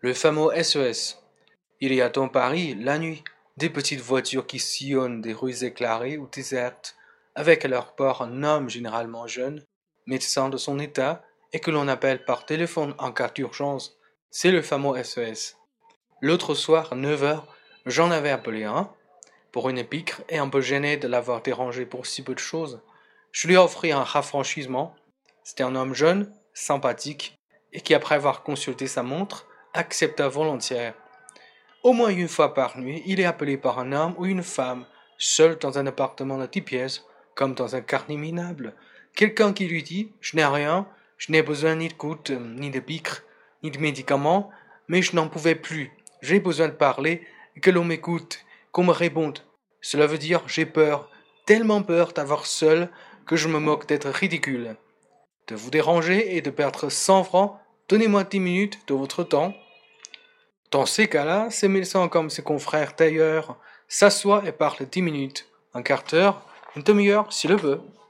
Le fameux SES. Il y a dans Paris, la nuit, des petites voitures qui sillonnent des rues éclairées ou désertes, avec à leur bord un homme généralement jeune, médecin de son état, et que l'on appelle par téléphone en cas d'urgence. C'est le fameux SES. L'autre soir, à 9 heures, j'en avais appelé un, pour une épître, et un peu gêné de l'avoir dérangé pour si peu de choses. Je lui ai offert un rafraîchissement. C'était un homme jeune, sympathique, et qui, après avoir consulté sa montre, accepta volontiers. Au moins une fois par nuit, il est appelé par un homme ou une femme, seul dans un appartement de 10 pièces, comme dans un quartier minable. Quelqu'un qui lui dit: Je n'ai rien, je n'ai besoin ni de gouttes, ni de piqûres, ni de médicaments, mais je n'en pouvais plus. J'ai besoin de parler, et que l'on m'écoute, qu'on me réponde. Cela veut dire j'ai peur, tellement peur d'avoir seul que je me moque d'être ridicule. De vous déranger et de perdre 100 francs, donnez-moi 10 minutes de votre temps. Dans ces cas-là, ces médecins comme ses confrères tailleurs s'assoient et parlent 10 minutes, un quart d'heure, une demi-heure s'il le veut.